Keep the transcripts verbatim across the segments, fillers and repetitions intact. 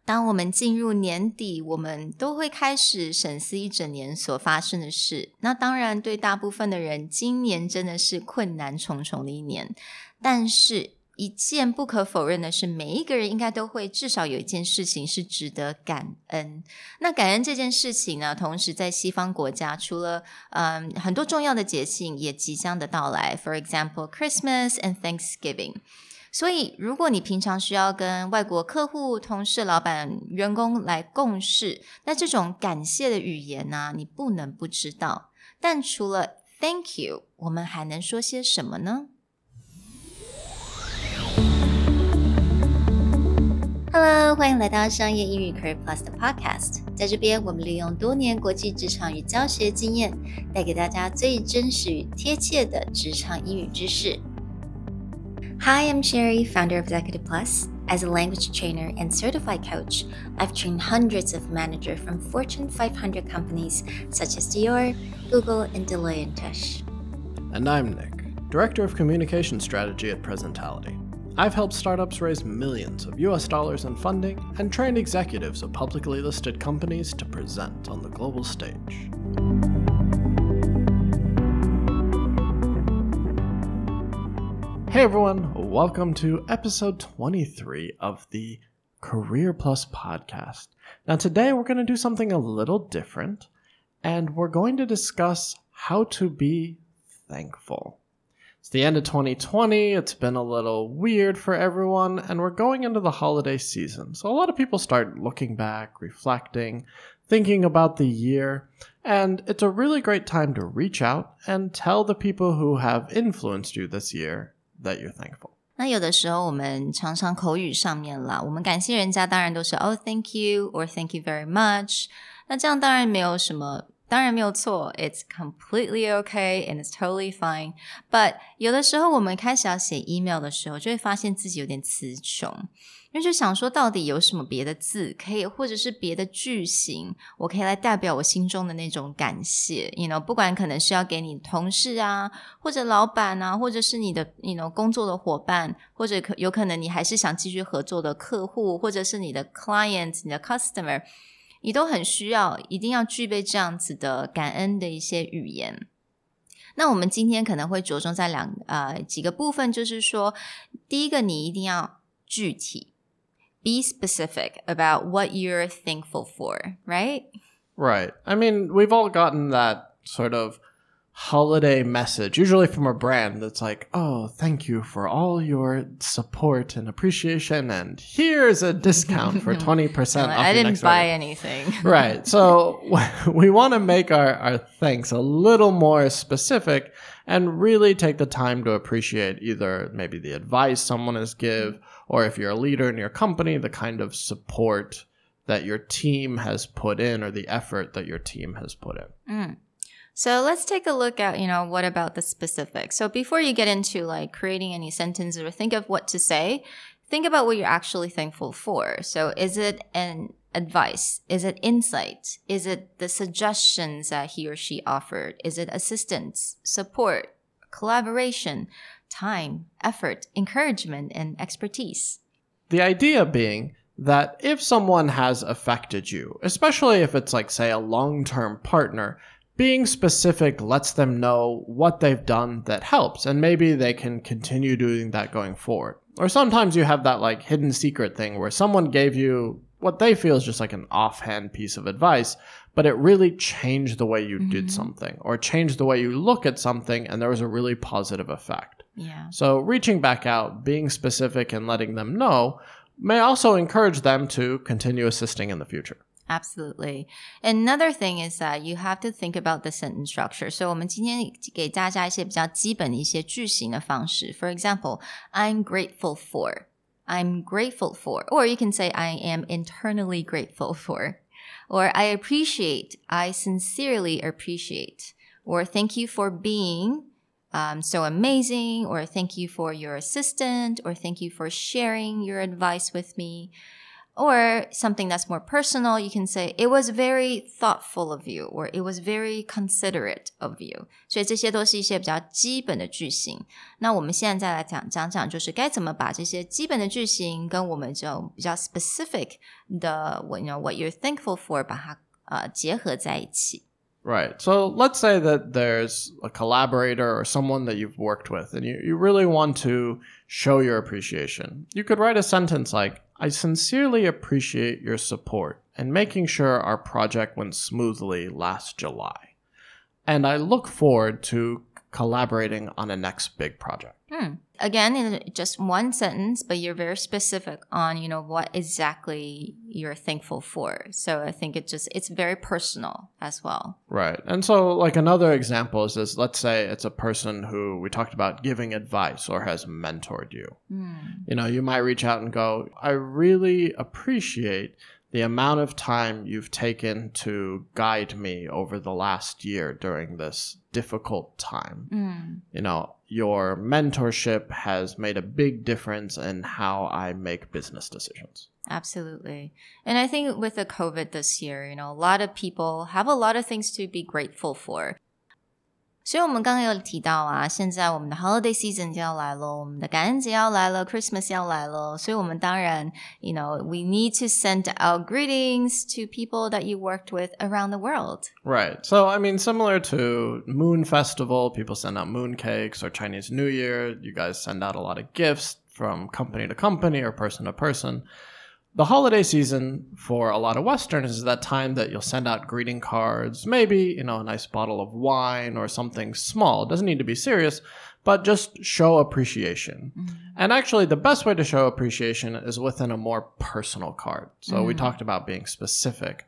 當我們進入年底，我們都會開始審視一整年所發生的事。那當然，對大部分的人，今年真的是困難重重的一年。但是，一件不可否認的是，每一個人應該都會至少有一件事情是值得感恩。那感恩這件事情呢，同時在西方國家，除了嗯很多重要的節慶也即將的到來 ，for example Christmas and Thanksgiving。所以，如果你平常需要跟外國客戶、同事、老闆、員工來共事，那這種感謝的語言呢、啊，你不能不知道。但除了 Thank you， 我們還能說些什麼呢？Hello， 歡迎來到商業英語 Career Plus 的 Podcast。在這邊，我們利用多年國際職場與教學經驗，帶給大家最真實與貼切的職場英語知識。Hi, I'm Sherry, founder of Executive Plus. As a language trainer and certified coach, I've trained hundreds of managers from Fortune five hundred companies such as Dior, Google, and Deloitte and Touche. And I'm Nick, Director of Communication Strategy at Presentality. I've helped startups raise millions of U S dollars in funding and trained executives of publicly listed companies to present on the global stage. Hey everyone, welcome to episode twenty-three of the Career Plus podcast. Now today we're going to do something a little different, and we're going to discuss how to be thankful. It's the end of twenty twenty, it's been a little weird for everyone, and we're going into the holiday season. So a lot of people start looking back, reflecting, thinking about the year, and it's a really great time to reach out and tell the people who have influenced you this year that you're thankful. 那有的時候我們常常口語上面啦，我們感謝人家當然都是 Oh, thank you or thank you very much. 那這樣當然沒有什麼，當然沒有錯 It's completely okay and it's totally fine. But 有的時候我們開始要寫 email 的時候，就會發現自己有點詞窮，因為就想說到底有什麼別的字可以，或者是別的句型，我可以來代表我心中的那種感謝 you know, 不管可能是要給你同事啊，或者老闆啊，或者是你的 you know, 工作的夥伴，或者可有可能你還是想繼續合作的客戶，或者是你的 client 你的 customer， 你都很需要一定要具備這樣子的感恩的一些語言。那我們今天可能會着重在兩呃幾個部分，就是說第一個你一定要具體，Be specific about what you're thankful for, right? Right. I mean, we've all gotten that sort of holiday message, usually from a brand that's like, oh, thank you for all your support and appreciation, and here's a discount for twenty percent no, off I your didn't next buy order. anything. Right. So we want to make our, our thanks a little more specific and really take the time to appreciate either maybe the advice someone has give, or if you're a leader in your company, the kind of support that your team has put in or the effort that your team has put in. Mm. So let's take a look at, you know, what about the specifics? So before you get into like creating any sentences or think of what to say, think about what you're actually thankful for. So is it an advice? Is it insight? Is it the suggestions that he or she offered? Is it assistance, support, collaboration, time, effort, encouragement, and expertise? The idea being that if someone has affected you, especially if it's like, say, a long-term partner, being specific lets them know what they've done that helps, and maybe they can continue doing that going forward. Or sometimes you have that like hidden secret thing where someone gave you what they feel is just like an offhand piece of advice, but it really changed the way you mm-hmm. did something or changed the way you look at something, and there was a really positive effect. Yeah. So reaching back out, being specific, and letting them know may also encourage them to continue assisting in the future. Absolutely. Another thing is that you have to think about the sentence structure. So 我們今天給大家一些比較基本的一些句型的方式。For example, I'm grateful for. I'm grateful for. Or you can say I am internally grateful for. Or I appreciate. I sincerely appreciate. Or thank you for being um, so amazing. Or thank you for your assistant. Or thank you for sharing your advice with me. Or something that's more personal, you can say, it was very thoughtful of you, or it was very considerate of you. 所以这些都是一些比较基本的句型。那我们现在再來講講講，就是該怎麼把這些基本的句型跟我們這種比較 specific 的 you know, what you're thankful for 把它呃結合在一起。 Right. So let's say that there's a collaborator or someone that you've worked with and you, you really want to show your appreciation. You could write a sentence like, I sincerely appreciate your support and making sure our project went smoothly last July. And I look forward to collaborating on a next big project. Hmm. Again, in just one sentence, but you're very specific on, you know, what exactly you're thankful for. So I think it just, it's very personal as well. Right. And so like another example is this, let's say it's a person who we talked about giving advice or has mentored you. Mm. You know, you might reach out and go, I really appreciate the amount of time you've taken to guide me over the last year during this difficult time. Mm. You know, your mentorship has made a big difference in how I make business decisions. Absolutely. And I think with the COVID this year, you know, a lot of people have a lot of things to be grateful for. 所以我們剛剛有提到啊，現在我們的 holiday season 就要來了，我們的感恩節要來了 Christmas 要來了，所以我們當然 you know, we need to send out greetings to people that you worked with around the world. Right. So, I mean, similar to Moon Festival, people send out moon cakes, or Chinese New Year, you guys send out a lot of gifts from company to company or person to person. The holiday season for a lot of Westerners is that time that you'll send out greeting cards, maybe, you know, a nice bottle of wine or something small. It doesn't need to be serious, but just show appreciation. Mm-hmm. And actually, the best way to show appreciation is within a more personal card. So mm-hmm. we talked about being specific.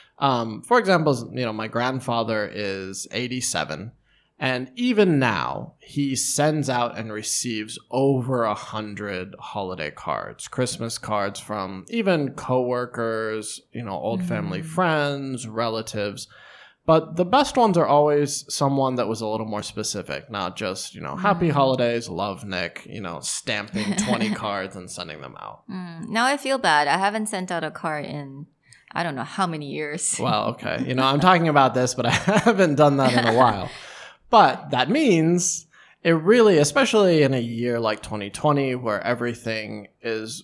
Um, for example, you know, my grandfather is eighty-seven. And even now, he sends out and receives over a hundred holiday cards, Christmas cards from even coworkers, you know, old mm-hmm. family friends, relatives. But the best ones are always someone that was a little more specific, not just, you know, happy mm. holidays, love Nick, you know, stamping twenty cards and sending them out. Mm. Now I feel bad. I haven't sent out a card in I don't know how many years. Well, okay. You know, I'm talking about this, but I haven't done that in a while. But that means it really, especially in a year like twenty twenty, where everything is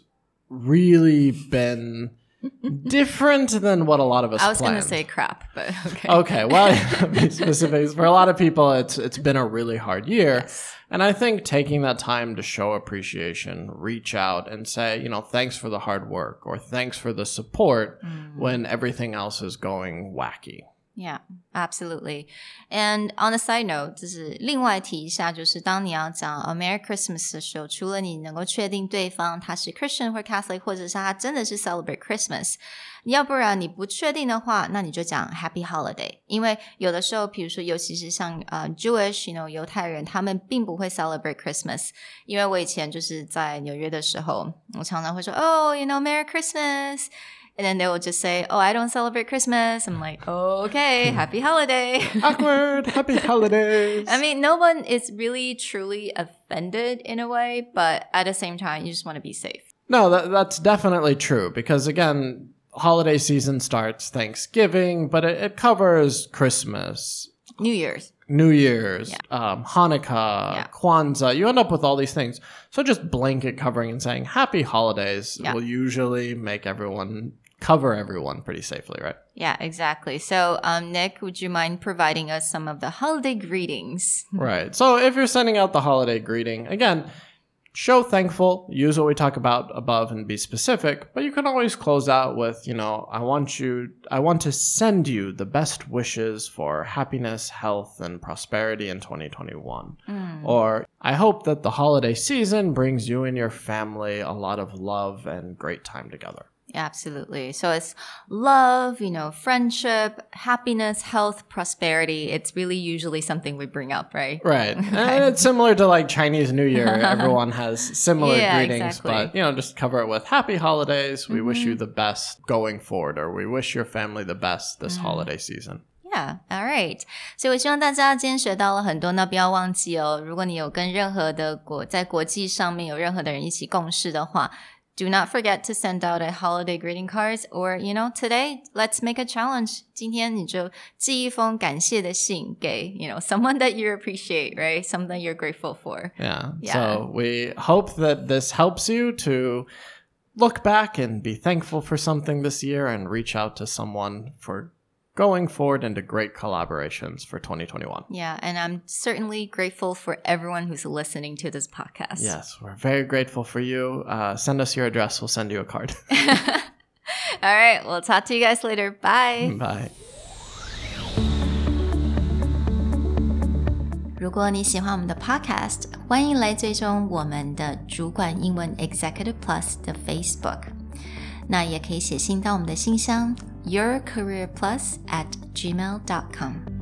really been different than what a lot of us I was planned. going to say crap, but okay. Okay, well, be specific. For a lot of people, it's it's been a really hard year. Yes. And I think taking that time to show appreciation, reach out and say, you know, thanks for the hard work or thanks for the support mm. when everything else is going wacky. Yeah, absolutely. And on a side note, 就是另外提一下，就是当你要講 a Merry Christmas 的時候，除了你能夠確定對方他是 Christian 或 Catholic， 或者是他真的是 celebrate Christmas， 要不然你不確定的話，那你就講 Happy Holiday。因為有的時候，比如說尤其是像呃 Jewish， you know, 猶太人，他們並不會 celebrate Christmas。因為我以前就是在紐約的時候，我常常會說 Oh, you know, Merry Christmas。And then they will just say, oh, I don't celebrate Christmas. I'm like, oh, okay, happy holiday. Awkward, happy holidays. I mean, no one is really truly offended in a way, but at the same time, you just want to be safe. No, that, that's definitely true because, again, holiday season starts Thanksgiving, but it, it covers Christmas. New Year's. New Year's, yeah. um, Hanukkah, yeah. Kwanzaa. You end up with all these things. So just blanket covering and saying happy holidays yeah. will usually make everyone... cover everyone pretty safely, right? Yeah, exactly. So, um, Nick, would you mind providing us some of the holiday greetings? Right. So if you're sending out the holiday greeting, again, show thankful, use what we talk about above and be specific, but you can always close out with, you know, I want you, I want to send you the best wishes for happiness, health, and prosperity in twenty twenty-one. Mm. Or I hope that the holiday season brings you and your family a lot of love and great time together. Absolutely. So it's love, you know, friendship, happiness, health, prosperity. It's really usually something we bring up, right? Right. Okay. And it's similar to like Chinese New Year. Everyone has similar yeah, greetings, exactly. but, you know, just cover it with happy holidays. We mm-hmm. wish you the best going forward, or we wish your family the best this mm-hmm. holiday season. Yeah, all right. 所以我希望大家今天學到了很多，那不要忘記哦，如果你有跟任何的國在國際上面有任何的人一起共事的話， Do not forget to send out a holiday greeting cards or, you know, today, let's make a challenge. 今天你就寄一封感謝的信给, you know, someone that you appreciate, right? Something you're grateful for. Yeah. yeah. So we hope that this helps you to look back and be thankful for something this year and reach out to someone for going forward into great collaborations for twenty twenty-one. Yeah, and I'm certainly grateful for everyone who's listening to this podcast. Yes, we're very grateful for you. Uh, send us your address. We'll send you a card. All right, we'll talk to you guys later. Bye. Bye. 如果你喜歡我們的 podcast， 歡迎來追蹤我們的主管英文 Executive Plus 的 Facebook。那也可以寫信到我們的信箱 yourcareerplus at gmail dot com。